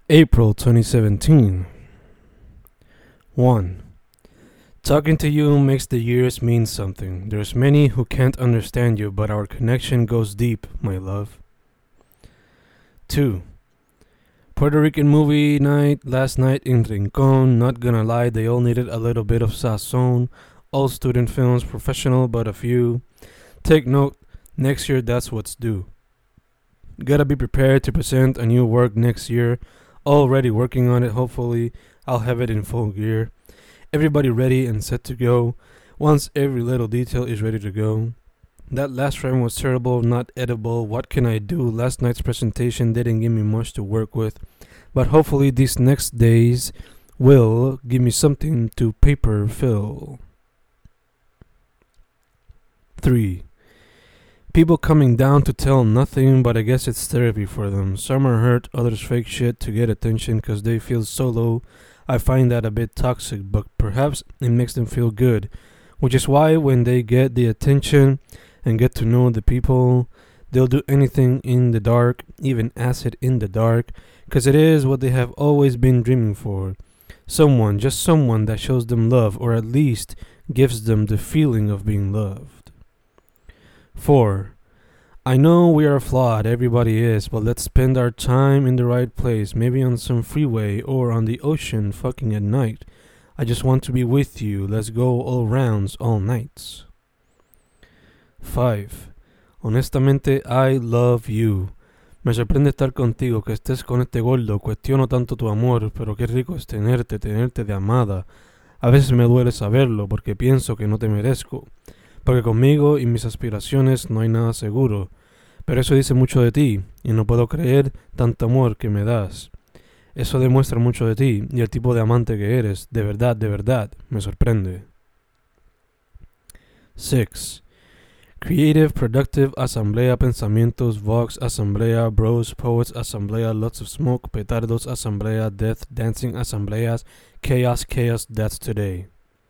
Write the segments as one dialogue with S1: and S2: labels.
S1: April 2017. 1. Talking to you makes the years mean something. There's many who can't understand you, but our connection goes deep, my love. 2. Puerto Rican movie night last night in Rincon. Not gonna lie, they all needed a little bit of sazon. All student films, professional but a few. Take note, next year that's what's due. Gotta be prepared to present a new work next year. Already working on it, hopefully I'll have it in full gear. Everybody ready and set to go. Once every little detail is ready to go. That last frame was terrible, not edible. What can I do? Last night's presentation didn't give me much to work with. But hopefully these next days will give me something to paper fill. 3. People coming down to tell nothing, but I guess it's therapy for them. Some are hurt, others fake shit to get attention cause they feel so low. I find that a bit toxic, but perhaps it makes them feel good. Which is why when they get the attention and get to know the people, they'll do anything in the dark, even acid in the dark, cause it is what they have always been dreaming for. Someone, just someone that shows them love, or at least gives them the feeling of being loved. 4. I know we are flawed, everybody is, but let's spend our time in the right place, maybe on some freeway or on the ocean fucking at night. I just want to be with you, let's go all rounds, all nights. 5. Honestamente, I love you. Me sorprende estar contigo, que estés con este gordo, cuestiono tanto tu amor, pero qué rico es tenerte de amada. A veces me duele saberlo, porque pienso que no te merezco. Porque conmigo y mis aspiraciones no hay nada seguro. Pero eso dice mucho de ti, y no puedo creer tanto amor que me das. Eso demuestra mucho de ti, y el tipo de amante que eres, de verdad, me sorprende. 6. Creative, productive, asamblea, pensamientos, vox, asamblea, bros, poets, asamblea, lots of smoke, petardos, asamblea, death, dancing, asambleas, chaos, that's today.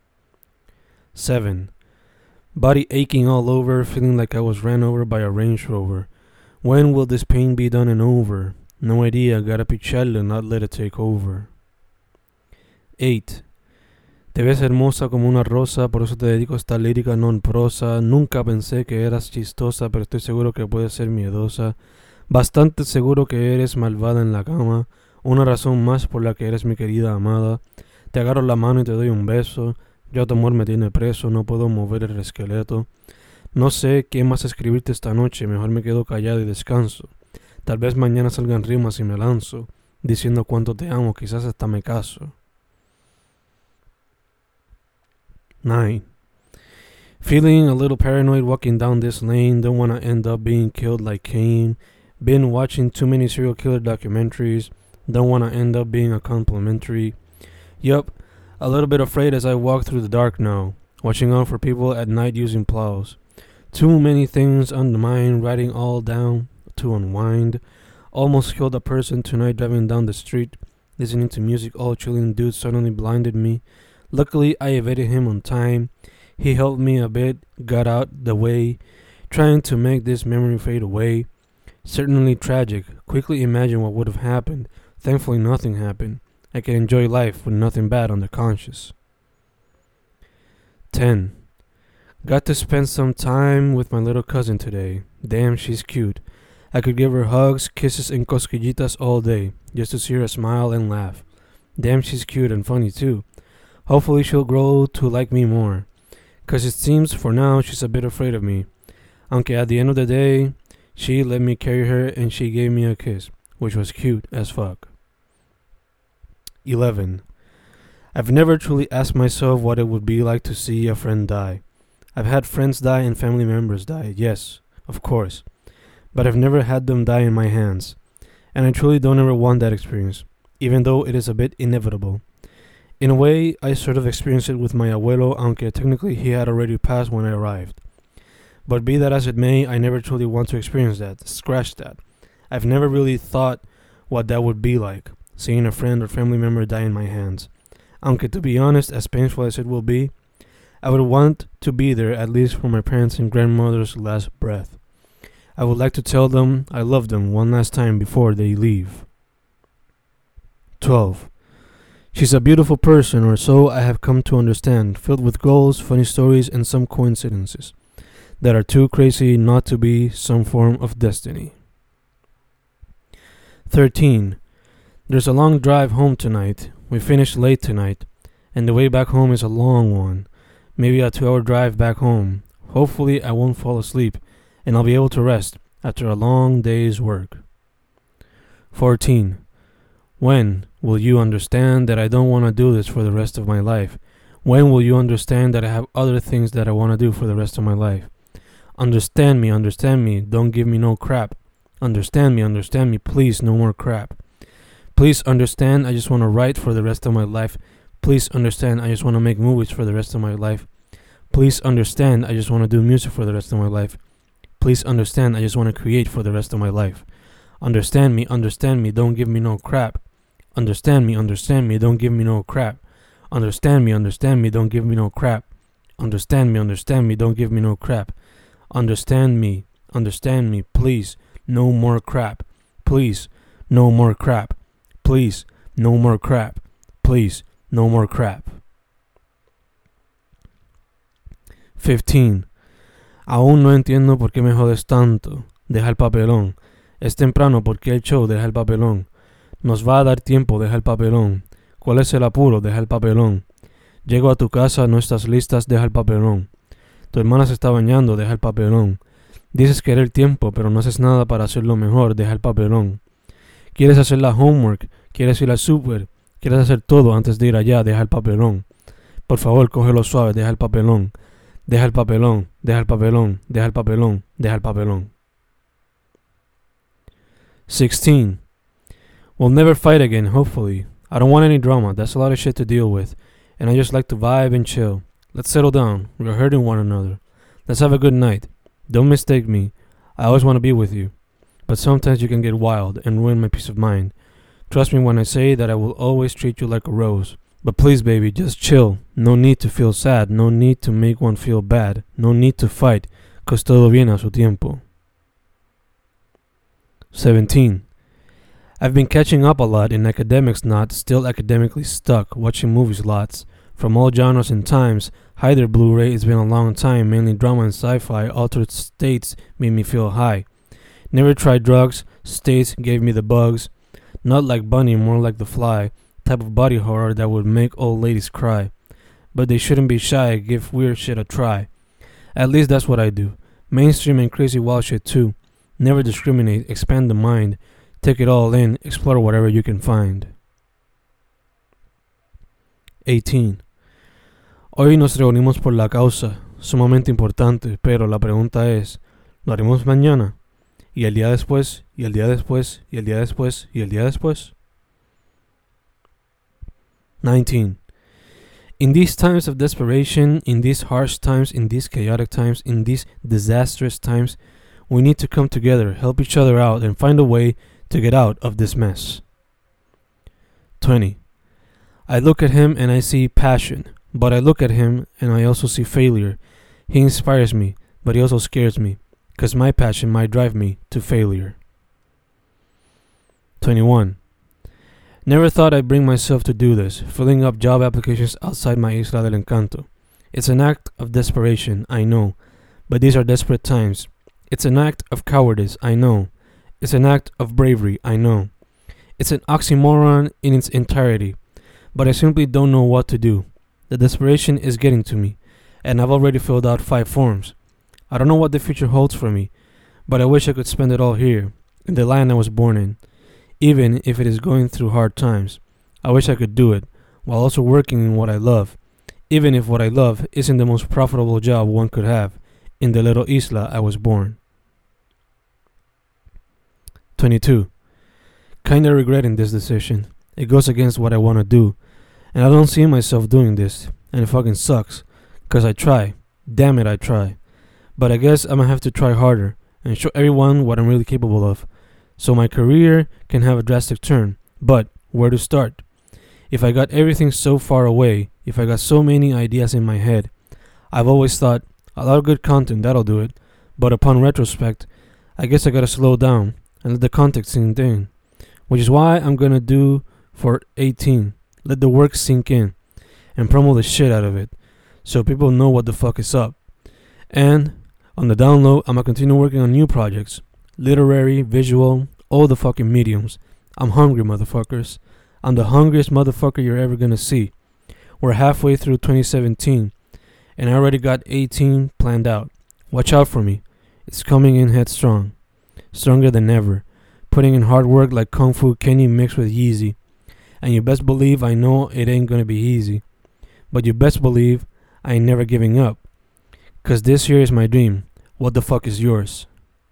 S1: 7. Body aching all over, feeling like I was ran over by a Range Rover. When will this pain be done and over? No idea, gotta picharle, not let it take over. 8. Te ves hermosa como una rosa, por eso te dedico esta lírica non prosa. Nunca pensé que eras chistosa, pero estoy seguro que puedes ser miedosa. Bastante seguro que eres malvada en la cama. Una razón más por la que eres mi querida amada. Te agarro la mano y te doy un beso. Ya tu amor me tiene preso, no puedo mover el esqueleto. No sé qué más escribirte esta noche, mejor me quedo callado y descanso. Tal vez mañana salgan rimas y me lanzo, diciendo cuánto te amo, quizás hasta me caso. 9. Feeling a little paranoid walking down this lane, don't wanna end up being killed like Cain. Been watching too many serial killer documentaries, don't wanna end up being a complimentary. Yup. A little bit afraid as I walk through the dark now, watching out for people at night using plows. Too many things on the mind, writing all down to unwind. Almost killed a person tonight driving down the street, listening to music all chilling. Dude suddenly blinded me. Luckily I evaded him on time. He helped me a bit, got out the way, trying to make this memory fade away. Certainly tragic. Quickly imagine what would have happened. Thankfully nothing happened. I can enjoy life with nothing bad on the conscience. 10. Got to spend some time with my little cousin today. Damn, she's cute. I could give her hugs, kisses, and cosquillitas all day, just to see her smile and laugh. Damn, she's cute and funny too. Hopefully she'll grow to like me more. Cause it seems for now she's a bit afraid of me. Aunque at the end of the day, she let me carry her and she gave me a kiss, which was cute as fuck. 11. I've never truly asked myself what it would be like to see a friend die. I've had friends die and family members die, yes, of course. But I've never had them die in my hands. And I truly don't ever want that experience, even though it is a bit inevitable. In a way, I sort of experienced it with my abuelo, aunque technically he had already passed when I arrived. But be that as it may, I never truly want to experience that, scratch that. I've never really thought what that would be like. Seeing a friend or family member die in my hands. Aunque to be honest, as painful as it will be, I would want to be there at least for my parents' and grandmother's last breath. I would like to tell them I love them one last time before they leave. 12. She's a beautiful person, or so I have come to understand, filled with goals, funny stories, and some coincidences that are too crazy not to be some form of destiny. 13. There's a long drive home tonight. We finished late tonight, and the way back home is a long one. Maybe a 2-hour drive back home. Hopefully I won't fall asleep, and I'll be able to rest after a long day's work. 14. When will you understand that I don't want to do this for the rest of my life? When will you understand that I have other things that I want to do for the rest of my life? Understand me, don't give me no crap. Understand me, please, no more crap. Please understand, I just want to write for the rest of my life. Please understand, I just want to make movies for the rest of my life. Please understand, I just want to do music for the rest of my life. Please understand, I just want to create for the rest of my life. Understand me, don't give me no crap. Understand me, don't give me no crap. Understand me, don't give me no crap. Understand me, don't give me no crap. Understand me, please, no more crap. Please, no more crap. Please, no more crap. Please, no more crap. 15. Aún no entiendo por qué me jodes tanto. Deja el papelón. Es temprano, porque el show, deja el papelón. Nos va a dar tiempo, deja el papelón. ¿Cuál es el apuro? Deja el papelón. Llego a tu casa, no estás listas, deja el papelón. Tu hermana se está bañando, deja el papelón. Dices querer tiempo, pero no haces nada para hacerlo mejor, deja el papelón. Quieres hacer la homework, quieres ir al super, quieres hacer todo antes de ir allá, deja el papelón. Por favor, cógelo suave, deja el papelón. Deja el papelón, deja el papelón, deja el papelón, deja el papelón. 16. We'll never fight again, hopefully. I don't want any drama, that's a lot of shit to deal with. And I just like to vibe and chill. Let's settle down, we're hurting one another. Let's have a good night. Don't mistake me, I always want to be with you. But sometimes you can get wild and ruin my peace of mind. Trust me when I say that I will always treat you like a rose. But please, baby, just chill. No need to feel sad, no need to make one feel bad. No need to fight, cause todo viene a su tiempo. 17. I've been catching up a lot in academics, not still academically stuck, watching movies lots. From all genres and times, hi there Blu-ray, it's been a long time, mainly drama and sci-fi, altered states made me feel high. Never tried drugs, states gave me the bugs. Not like Bunny, more like the Fly, type of body horror that would make old ladies cry. But they shouldn't be shy, give weird shit a try. At least that's what I do. Mainstream and crazy wild shit too. Never discriminate, expand the mind. Take it all in, explore whatever you can find. 18. Hoy nos reunimos por la causa, sumamente importante, pero la pregunta es, ¿lo haremos mañana? ¿Y el día después? ¿Y el día después? ¿Y el día después? ¿Y el día después? 19. In these times of desperation, in these harsh times, in these chaotic times, in these disastrous times, we need to come together, help each other out, and find a way to get out of this mess. 20. I look at him and I see passion, but I look at him and I also see failure. He inspires me, but he also scares me, because my passion might drive me to failure. 21. Never thought I'd bring myself to do this, filling up job applications outside my Isla del Encanto. It's an act of desperation, I know, but these are desperate times. It's an act of cowardice, I know. It's an act of bravery, I know. It's an oxymoron in its entirety, but I simply don't know what to do. The desperation is getting to me, and I've already filled out 5 forms. I don't know what the future holds for me, but I wish I could spend it all here, in the land I was born in. Even if it is going through hard times, I wish I could do it, while also working in what I love, even if what I love isn't the most profitable job one could have, in the little isla I was born. 22. Kinda regretting this decision. It goes against what I wanna do, and I don't see myself doing this, and it fucking sucks, cause I try. Damn it, I try. But I guess I'm gonna have to try harder, and show everyone what I'm really capable of, so my career can have a drastic turn. But where to start? If I got everything so far away, if I got so many ideas in my head, I've always thought, a lot of good content, that'll do it. But upon retrospect, I guess I gotta slow down and let the context sink in. Which is why I'm gonna do for 18. Let the work sink in and promo the shit out of it so people know what the fuck is up. And on the down low, I'm gonna continue working on new projects. Literary, visual, all the fucking mediums. I'm hungry, motherfuckers. I'm the hungriest motherfucker you're ever gonna see. We're halfway through 2017 and I already got 18 planned out. Watch out for me. It's coming in headstrong. Stronger than ever. Putting in hard work like Kung Fu Kenny mixed with Yeezy. And you best believe I know it ain't gonna be easy. But you best believe I ain't never giving up. Cause this here is my dream. What the fuck is yours?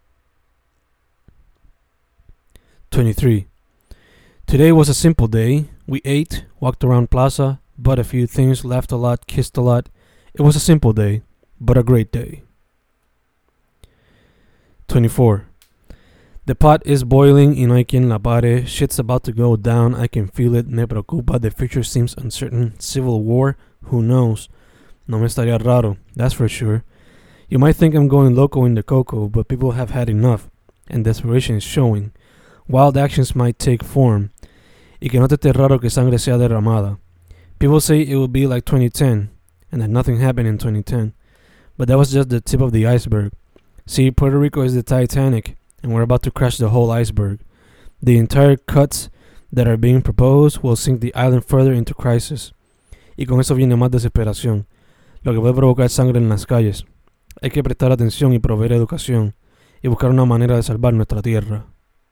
S1: 23. Today was a simple day. We ate, walked around Plaza, bought a few things, laughed a lot, kissed a lot. It was a simple day, but a great day. 24. The pot is boiling y no hay quien la pare. Shit's about to go down, I can feel it. Me preocupa, the future seems uncertain. Civil war, who knows? No me estaría raro, that's for sure. You might think I'm going loco in the coco, but people have had enough, and desperation is showing. Wild actions might take form. Y que no te esté raro que sangre sea derramada. People say it will be like 2010, and that nothing happened in 2010. But that was just the tip of the iceberg. See, Puerto Rico is the Titanic, and we're about to crash the whole iceberg. The entire cuts that are being proposed will sink the island further into crisis. Y con eso viene más desesperación, lo que puede provocar sangre en las calles. Hay que prestar atención y proveer educación, y buscar una manera de salvar nuestra tierra.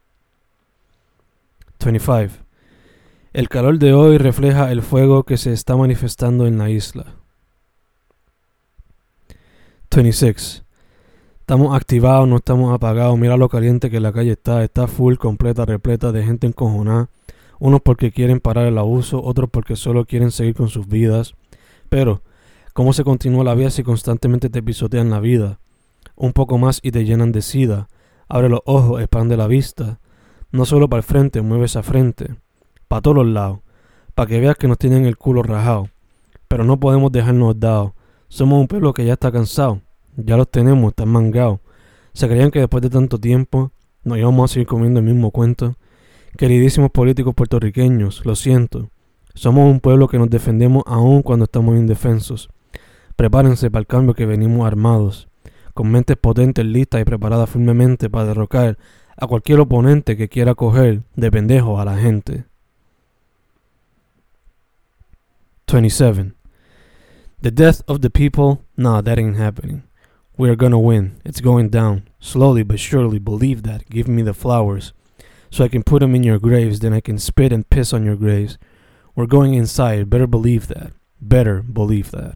S1: 25. El calor de hoy refleja el fuego que se está manifestando en la isla. 26. Estamos activados, no estamos apagados. Mira lo caliente que la calle está. Está full, completa, repleta de gente encojonada. Unos porque quieren parar el abuso, otros porque solo quieren seguir con sus vidas. Pero, ¿cómo se continúa la vida si constantemente te pisotean la vida? Un poco más y te llenan de sida. Abre los ojos, expande la vista. No solo para el frente, mueve esa frente. Para todos los lados. Para que veas que nos tienen el culo rajado. Pero no podemos dejarnos dados. Somos un pueblo que ya está cansado. Ya los tenemos, están mangados. Se creían que después de tanto tiempo nos íbamos a seguir comiendo el mismo cuento. Queridísimos políticos puertorriqueños, lo siento. Somos un pueblo que nos defendemos aún cuando estamos indefensos. Prepárense para el cambio que venimos armados, con mentes potentes, listas y preparadas firmemente para derrocar a cualquier oponente que quiera coger de pendejo a la gente. 27. The death of the people? Nah, that ain't happening. We are gonna win. It's going down. Slowly but surely, believe that. Give me the flowers, so I can put them in your graves, then I can spit and piss on your graves. We're going inside. Better believe that. Better believe that.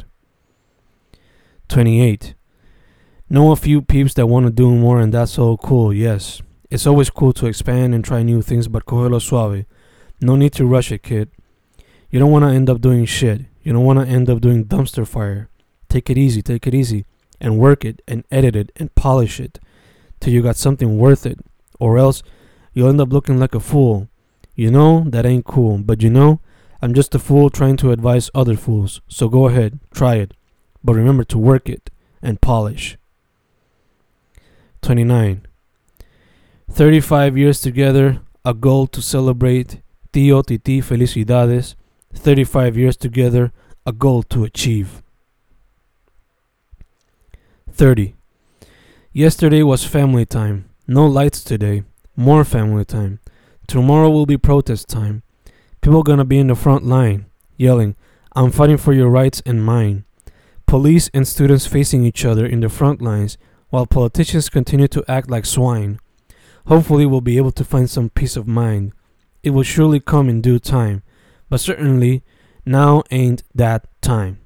S1: 28. Know a few peeps that want to do more, and that's all cool, yes. It's always cool to expand and try new things, but cógelo suave. No need to rush it, kid. You don't want to end up doing shit. You don't want to end up doing dumpster fire. Take it easy, and work it, and edit it, and polish it, till you got something worth it, or else you'll end up looking like a fool. You know, that ain't cool, but you know, I'm just a fool trying to advise other fools, so go ahead, try it, but remember to work it, and polish. 29. 35 years together, a goal to celebrate. Tío, titi, felicidades. 35 years together, a goal to achieve. 30. Yesterday was family time. No lights today. More family time. Tomorrow will be protest time. People gonna be in the front line, yelling, I'm fighting for your rights and mine. Police and students facing each other in the front lines, while politicians continue to act like swine. Hopefully we'll be able to find some peace of mind. It will surely come in due time, but certainly now ain't that time.